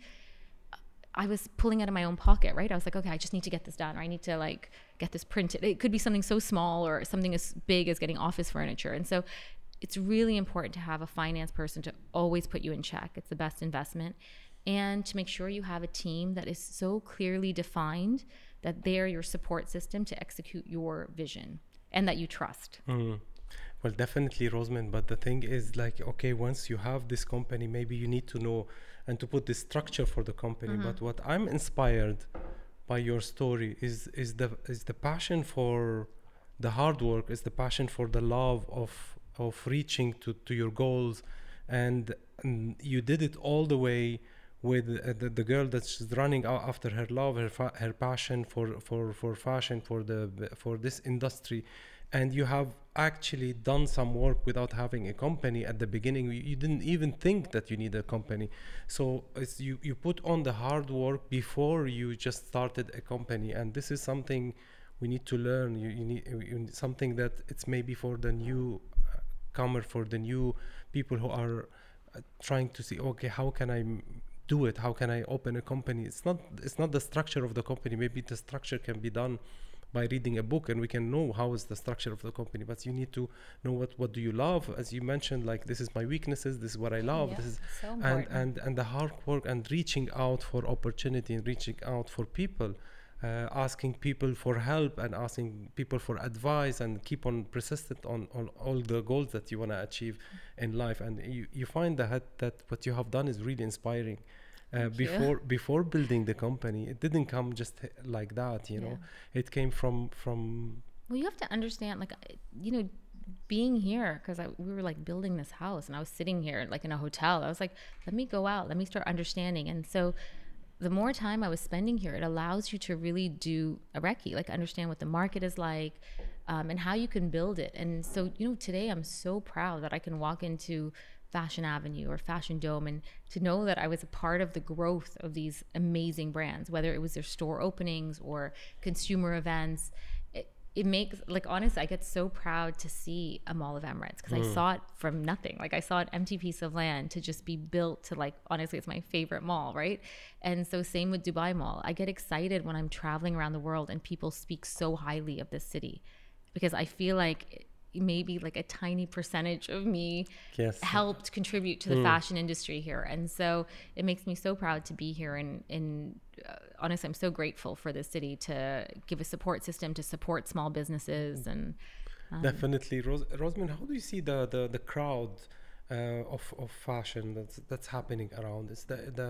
I was pulling out of my own pocket, right? I was like, okay, I just need to get this done, or I need to like get this printed. It could be something so small or something as big as getting office furniture. And so it's really important to have a finance person to always put you in check. It's the best investment. And to make sure you have a team that is so clearly defined that they're your support system to execute your vision and that you trust. Hmm. Well, definitely, Rosamond. But the thing is, like, okay, once you have this company, maybe you need to know and to put the structure for the company. Mm-hmm. But what I'm inspired by your story is is the is the passion for the hard work, is the passion for the love of of reaching to, to your goals, and, and you did it all the way with uh, the, the girl that's running after her love, her fa- her passion for, for, for fashion, for the for this industry. And you have actually done some work without having a company at the beginning. You, you didn't even think that you need a company. So it's you, you put on the hard work before you just started a company. And this is something we need to learn. You, you, need, you need something that it's maybe for the new comer, for the new people who are uh, trying to see, okay, how can I m- do it? How can I open a company? It's not, it's not the structure of the company. Maybe the structure can be done by reading a book, and we can know how is the structure of the company, but you need to know what what do you love, as you mentioned, like this is my weaknesses, this is what I love, yeah, this is so and and and the hard work and reaching out for opportunity and reaching out for people, uh, asking people for help and asking people for advice, and keep on persistent on, on all the goals that you want to achieve in life. And you, you find that that what you have done is really inspiring. Uh, before you. before building the company, it didn't come just like that, you know. Yeah. It came from from. Well, you have to understand, like, you know, being here, because we were like building this house, and I was sitting here like in a hotel. I was like, let me go out, let me start understanding. And so, the more time I was spending here, it allows you to really do a recce, like understand what the market is like, um, and how you can build it. And so, you know, today I'm so proud that I can walk into Fashion Avenue or Fashion Dome, and to know that I was a part of the growth of these amazing brands, whether it was their store openings or consumer events. It, it makes, like, honestly, I get so proud to see a Mall of Emirates, because mm. I saw it from nothing. Like, I saw an empty piece of land to just be built to, like, honestly, it's my favorite mall, right? And so same with Dubai Mall. I get excited when I'm traveling around the world and people speak so highly of this city, because I feel like maybe like a tiny percentage of me yes. helped contribute to the mm. fashion industry here. And so it makes me so proud to be here. And, and uh, honestly, I'm so grateful for the city to give a support system to support small businesses. And um, definitely. Ros- Rosamond, how do you see the, the, the crowd uh, of, of fashion that's, that's happening around? Is the, the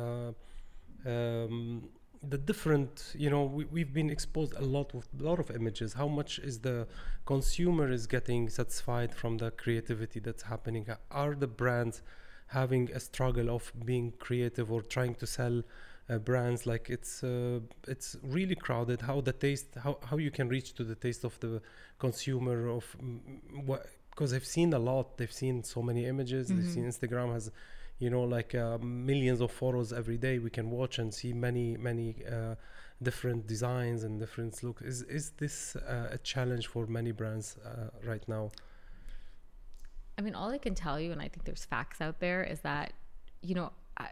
um, the different, you know, we, we've been exposed a lot with a lot of images. How much is the consumer is getting satisfied from the creativity that's happening? Are the brands having a struggle of being creative or trying to sell uh, brands. Like it's uh, it's really crowded. How the taste, how how you can reach to the taste of the consumer of mm, what? Because they've seen a lot. They've seen so many images. Mm-hmm. They've seen Instagram has, you know, like uh, millions of photos every day. We can watch and see many many uh, different designs and different looks. Is is this uh, a challenge for many brands uh, right now? I mean, all I can tell you, and I think there's facts out there, is that, you know, I,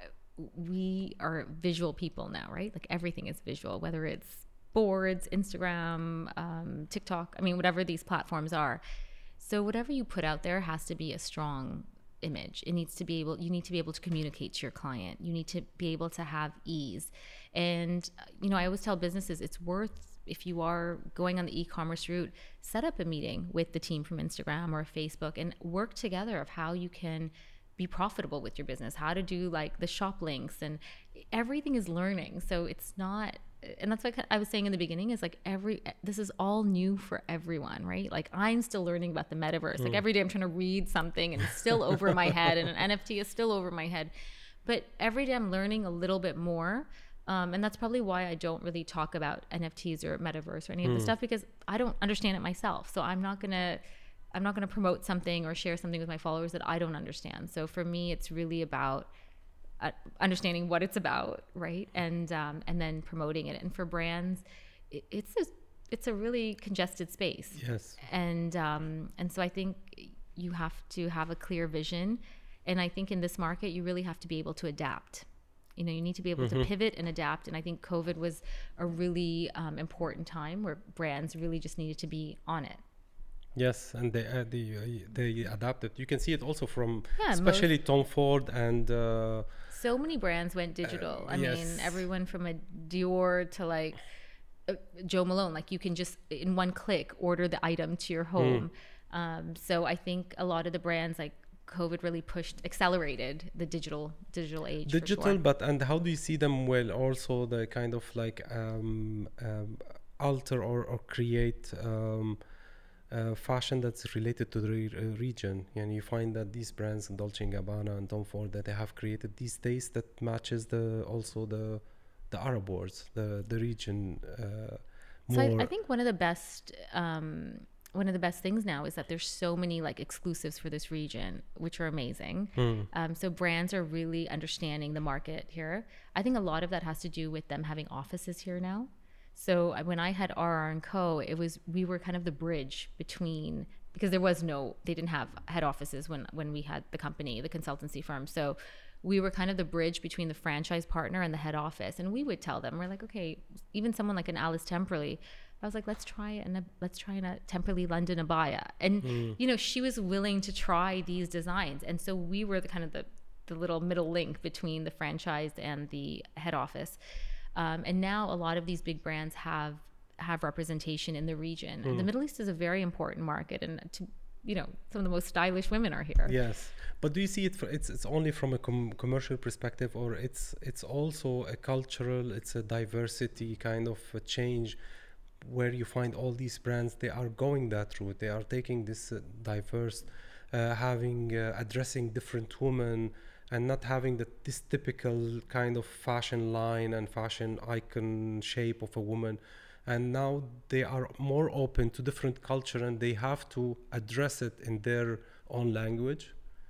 we are visual people now, right? Like everything is visual, whether it's boards, Instagram, um, TikTok, I mean, whatever these platforms are. So whatever you put out there has to be a strong image. It needs to be able, you need to be able to communicate to your client. You need to be able to have ease. And, you know, I always tell businesses it's worth, if you are going on the e-commerce route, set up a meeting with the team from Instagram or Facebook and work together of how you can be profitable with your business, how to do like the shop links, and everything is learning. So it's not, and that's what I was saying in the beginning, is like every, this is all new for everyone, right? Like I'm still learning about the metaverse. Mm. Like every day I'm trying to read something and it's still over my head, and an N F T is still over my head. But every day I'm learning a little bit more. Um, and that's probably why I don't really talk about N F Ts or metaverse or any mm. of this stuff, because I don't understand it myself. So I'm not going to, I'm not going to promote something or share something with my followers that I don't understand. So for me, it's really about uh, understanding what it's about, right? And um, and then promoting it. And for brands, it, it's a, it's a really congested space. Yes. And um, and so I think you have to have a clear vision. And I think in this market, you really have to be able to adapt. You know, you need to be able mm-hmm. to pivot and adapt. And I think COVID was a really um, important time where brands really just needed to be on it. Yes, and they uh, they, uh, they adapted. You can see it also from yeah, especially Tom Ford and uh, so many brands went digital. Uh, I yes. mean, everyone from a Dior to like uh, Joe Malone. Like you can just in one click order the item to your home. Mm. Um, so I think a lot of the brands, like COVID really pushed, accelerated the digital digital age. Digital, for sure. But and how do you see them? Well, also the kind of like um, um, alter or or create. Um, Uh, fashion that's related to the re- uh, region, and you find that these brands, Dolce and Gabbana and Tom Ford, that they have created these days that matches the also the the Arab words, the the region. Uh, so I, I think one of the best um, one of the best things now is that there's so many like exclusives for this region, which are amazing. Mm. Um, so brands are really understanding the market here. I think a lot of that has to do with them having offices here now. So when I had R R and Co, it was, we were kind of the bridge between, because there was no, they didn't have head offices when, when we had the company, the consultancy firm. So we were kind of the bridge between the franchise partner and the head office. And we would tell them, we're like, okay, even someone like an Alice Temperley, I was like, let's try it. And let's try in a Temperley London Abaya. And, mm. you know, she was willing to try these designs. And so we were the kind of the, the little middle link between the franchise and the head office. Um, and now a lot of these big brands have have representation in the region. Mm. The Middle East is a very important market, and to, you know, some of the most stylish women are here. Yes, but do you see it? For, it's it's only from a com- commercial perspective, or it's it's also a cultural, it's a diversity kind of a change, where you find all these brands, they are going that route. They are taking this uh, diverse, uh, having uh, addressing different women. And not having the, this typical kind of fashion line and fashion icon shape of a woman. And now they are more open to different culture, and they have to address it in their own language,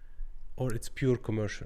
or it's pure commercial.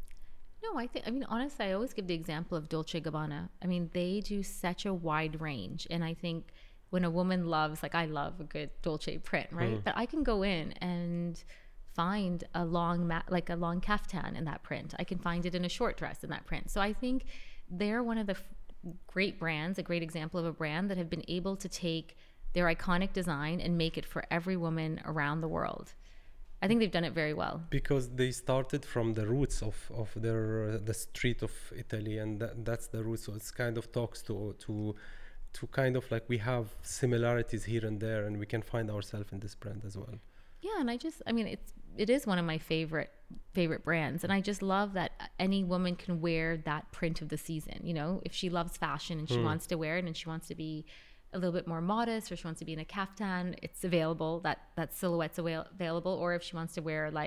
No, I think, I mean, honestly, I always give the example of Dolce Gabbana. I mean, they do such a wide range. And I think when a woman loves, like I love a good Dolce print, right? Mm. But I can go in and find a long mat, like a long kaftan in that print. I can find it in a short dress in that print. So I think they're one of the f- great brands, a great example of a brand that have been able to take their iconic design and make it for every woman around the world. I think they've done it very well. Because they started from the roots of, of their uh, the street of Italy, and that, that's the roots. So it's kind of talks to to to kind of like we have similarities here and there, and we can find ourselves in this brand as well. Yeah, and I just, I mean, it's it is one of my favorite favorite brands, and I just love that any woman can wear that print of the season. You know, if she loves fashion and she mm. wants to wear it, and she wants to be a little bit more modest, or she wants to be in a kaftan, it's available. That that silhouette's avail- available. Or if she wants to wear like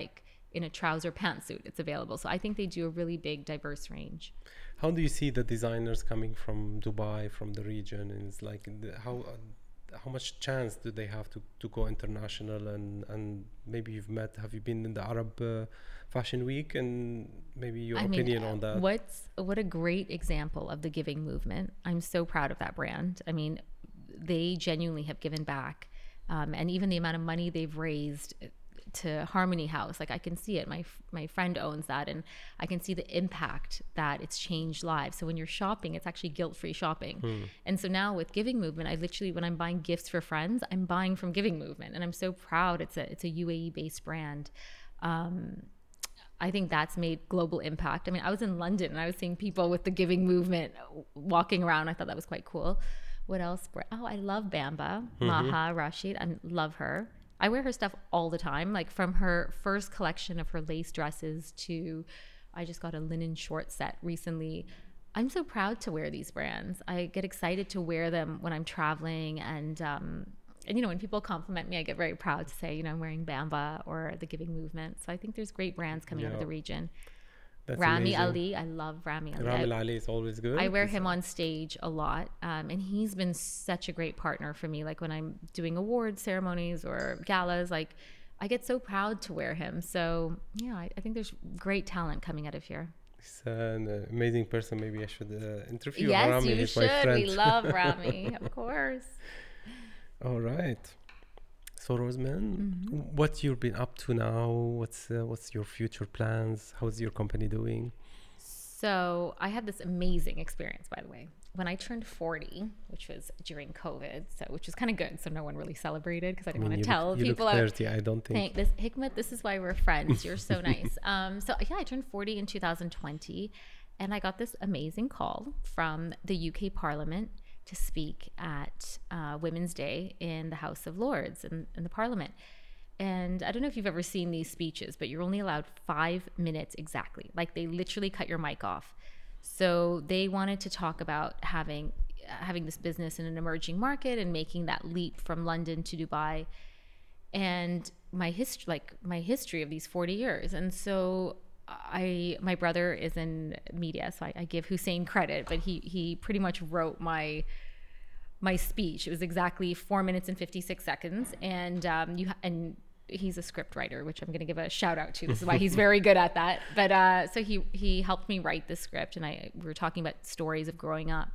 in a trouser pantsuit, it's available. So I think they do a really big, diverse range. How do you see the designers coming from Dubai, from the region? And it's like the, how uh, how much chance do they have to, to go international? And, and maybe you've met, have you been in the Arab uh, Fashion Week? And maybe your I opinion mean, on that. What's what a great example of the giving movement. I'm so proud of that brand. I mean, they genuinely have given back. Um, and even the amount of money they've raised to Harmony House, like I can see it. My my friend owns that, and I can see the impact that it's changed lives. So when you're shopping, it's actually guilt-free shopping. Hmm. And so now with Giving Movement, I literally, when I'm buying gifts for friends, I'm buying from Giving Movement, and I'm so proud. It's a it's a U A E-based brand. Um, I think that's made global impact. I mean, I was in London and I was seeing people with the Giving Movement walking around. I thought that was quite cool. What else? Oh, I love Bamba, mm-hmm. Maha Rashid. I love her. I wear her stuff all the time, like from her first collection of her lace dresses to, I just got a linen short set recently. I'm so proud to wear these brands. I get excited to wear them when I'm traveling. And, um, and you know, when people compliment me, I get very proud to say, you know, I'm wearing Bamba or the Giving Movement. So I think there's great brands coming yeah. out of the region. That's Rami amazing. Ali, I love Rami Ali. Rami Ali is always good. I wear him on stage a lot, um, and he's been such a great partner for me. Like when I'm doing award ceremonies or galas, like I get so proud to wear him. So yeah, I, I think there's great talent coming out of here. He's an uh, amazing person. Maybe I should uh, interview yes, Rami. Yes, you He's should. My friend. We love Rami, of course. All right. So Roseman, mm-hmm. what you've been up to now? What's uh, what's your future plans? How's your company doing? So I had this amazing experience, by the way, when I turned forty, which was during COVID, so which was kind of good. So no one really celebrated because I didn't I mean, want to tell look, you people. Look thirty, I, I don't think. Thank, this Hikmet, this is why we're friends. You're so nice. Um, so yeah, I turned forty in two thousand twenty, and I got this amazing call from the U K Parliament to speak at uh, Women's Day in the House of Lords in, in the Parliament. And I don't know if you've ever seen these speeches, but you're only allowed five minutes exactly. Like they literally cut your mic off. So they wanted to talk about having having this business in an emerging market and making that leap from London to Dubai, and my history, like my history of these forty years. And so I, my brother is in media, so I, I give Hussein credit, but he he pretty much wrote my my speech. It was exactly four minutes and fifty-six seconds, and um, you and he's a script writer, which I'm going to give a shout out to. This is why he's very good at that. But uh, so he he helped me write the script, and I we were talking about stories of growing up,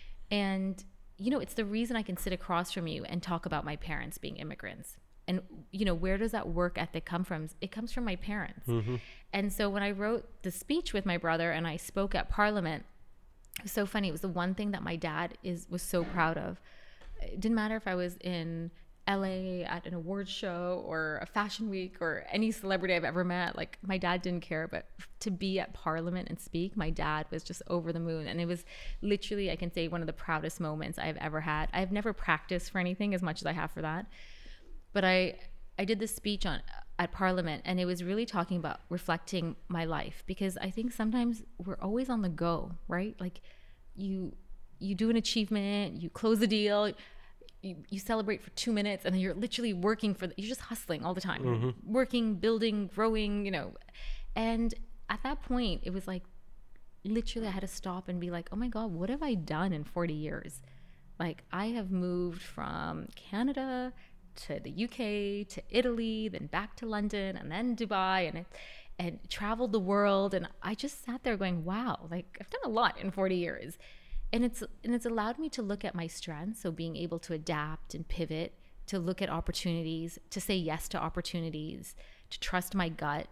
and you know, it's the reason I can sit across from you and talk about my parents being immigrants. And, you know, where does that work ethic come from? It comes from my parents. Mm-hmm. And so when I wrote the speech with my brother and I spoke at Parliament, it was so funny. It was the one thing that my dad is was so proud of. It didn't matter if I was in L A at an awards show or a fashion week or any celebrity I've ever met. Like, my dad didn't care, but to be at Parliament and speak, my dad was just over the moon. And it was literally, I can say, one of the proudest moments I've ever had. I've never practiced for anything as much as I have for that. But I, I did this speech on at Parliament, and it was really talking about reflecting my life, because I think sometimes we're always on the go, right? Like you, you do an achievement, you close a deal, you, you celebrate for two minutes, and then you're literally working for, the, you're just hustling all the time, mm-hmm. working, building, growing, you know. And at that point, it was like, literally I had to stop and be like, oh my God, what have I done in forty years? Like, I have moved from Canada to the U K, to Italy, then back to London, and then Dubai, and and traveled the world. And I just sat there going, wow, like I've done a lot in forty years. And it's and it's allowed me to look at my strengths, so being able to adapt and pivot, to look at opportunities, to say yes to opportunities, to trust my gut,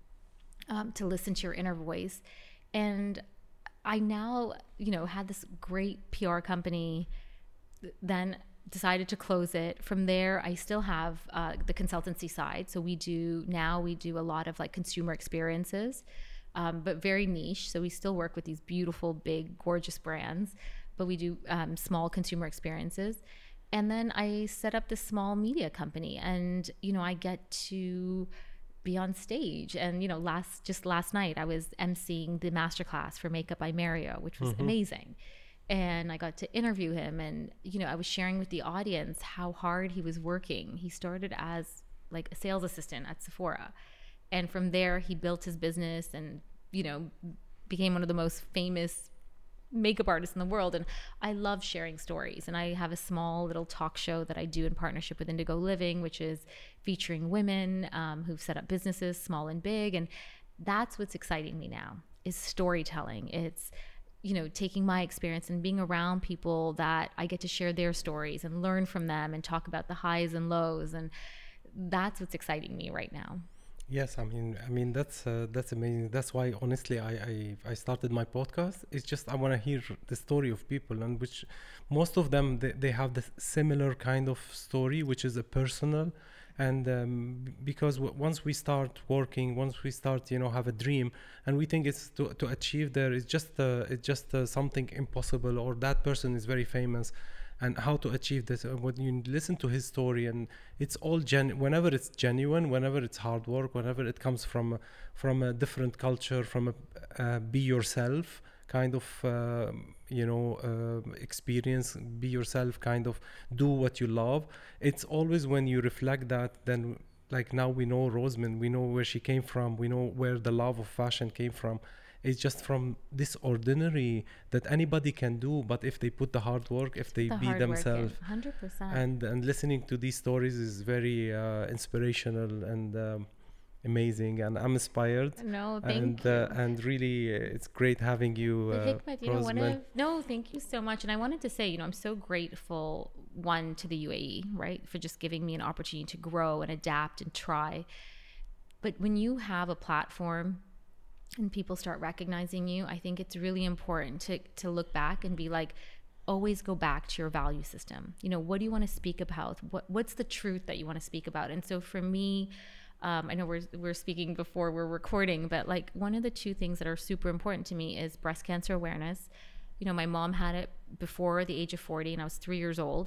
um, to listen to your inner voice. And I now, you know, had this great P R company, then decided to close it. From there, I still have uh, the consultancy side. So we do, now we do a lot of like consumer experiences, um, but very niche. So we still work with these beautiful, big, gorgeous brands, but we do um, small consumer experiences. And then I set up this small media company, and, you know, I get to be on stage. And, you know, last, just last night, I was emceeing the masterclass for Makeup by Mario, which was mm-hmm. amazing. And I got to interview him, and, you know, I was sharing with the audience how hard he was working. He started as like a sales assistant at Sephora, And from there, he built his business and, you know, became one of the most famous makeup artists in the world. And I love sharing stories. And I have a small little talk show that I do in partnership with Indigo Living, which is featuring women um, who've set up businesses, small and big. And that's what's exciting me now, is storytelling. It's, you know, taking my experience and being around people that I get to share their stories and learn from them and talk about the highs and lows. And that's what's exciting me right now. Yes, I mean, I mean that's uh, that's amazing. That's why, honestly, I, I I started my podcast. It's just I want to hear the story of people, and which most of them they, they have the similar kind of story, which is a personal. And um, because w- once we start working, once we start, you know, have a dream, and we think it's to to achieve there, it's just uh, it's just uh, something impossible, or that person is very famous. And how to achieve this, uh, when you listen to his story, and it's all gen whenever it's genuine, whenever it's hard work, whenever it comes from from a different culture, from a uh, be yourself kind of uh, you know uh, experience, be yourself, kind of do what you love. It's always when you reflect that, then like now we know Rosamond, we know where she came from, we know where the love of fashion came from. It's just from this ordinary that anybody can do, but if they put the hard work, if they The be hard themselves. work, one hundred percent. And and listening to these stories is very uh, inspirational and um, amazing, and I'm inspired. No, thank and you. uh, and really, uh, it's great having you, The uh, Hikmet, you know, one Rosamond. of, no, thank you so much. And I wanted to say, you know, I'm so grateful, one, to the U A E, right, for just giving me an opportunity to grow and adapt and try. But when you have a platform and people start recognizing you, I think it's really important to to look back and be like, always go back to your value system. You know, what do you want to speak about? What what's the truth that you want to speak about? And so for me, um, I know we're we're speaking before we're recording, but like one of the two things that are super important to me is breast cancer awareness. You know, my mom had it before the age of forty, and I was three years old,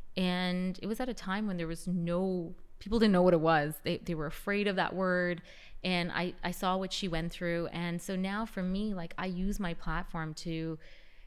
and it was at a time when there was no, people didn't know what it was. They they were afraid of that word. And I, I saw what she went through. And so now for me, like I use my platform to,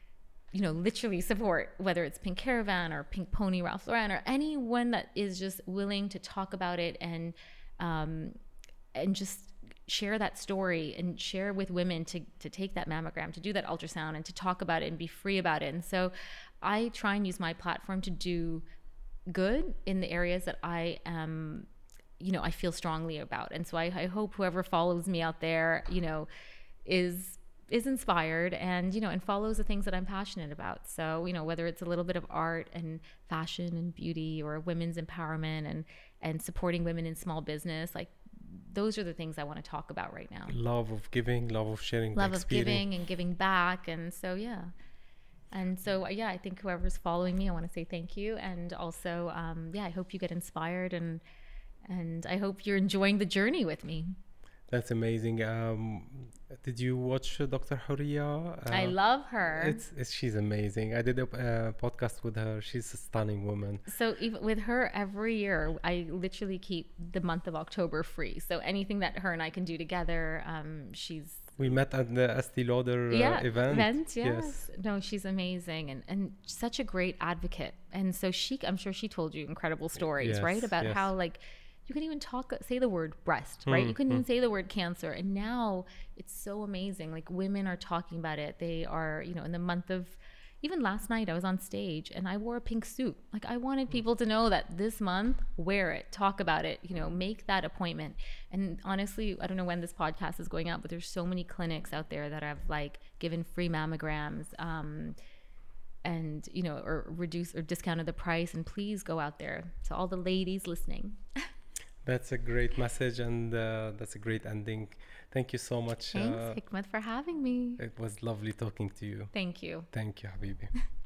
you know, literally support, whether it's Pink Caravan or Pink Pony, Ralph Lauren, or anyone that is just willing to talk about it and, um, and just share that story and share with women to, to take that mammogram, to do that ultrasound, and to talk about it and be free about it. And so I try and use my platform to do good in the areas that I am, you know, I feel strongly about. And so I, I hope whoever follows me out there, you know, is is inspired and, you know, and follows the things that I'm passionate about. So, you know, whether it's a little bit of art and fashion and beauty, or women's empowerment and and supporting women in small business, like those are the things I want to talk about right now. Love of giving, love of sharing, Love the of experience. giving and giving back. And so, yeah. And so, yeah, I think whoever's following me, I want to say thank you. And also, um, yeah, I hope you get inspired, and and I hope you're enjoying the journey with me. That's amazing. Um, did you watch uh, Doctor Horia? Uh, I love her. It's, it's she's amazing. I did a uh, podcast with her. She's a stunning woman. So even with her, every year I literally keep the month of October free. So anything that her and I can do together, um, she's We met at the Estee Lauder uh, yeah, event. event. Yes. No, she's amazing, and and such a great advocate. And so she, I'm sure she told you incredible stories, Yes, right? About yes. how like you can even talk, say the word breast, right? Mm, You couldn't mm. even say the word cancer. And now it's so amazing. Like women are talking about it. They are, you know, in the month of, even last night I was on stage and I wore a pink suit. Like I wanted people to know that this month, wear it, talk about it, you know, make that appointment. And honestly, I don't know when this podcast is going out, but there's so many clinics out there that have like given free mammograms, um, and, you know, or reduce or discounted the price. And please go out there. To all the ladies listening. That's a great message, and uh, that's a great ending. Thank you so much. Thanks, Uh, Hikmet, for having me. it was lovely talking to you. Thank you. Thank you, Habibi.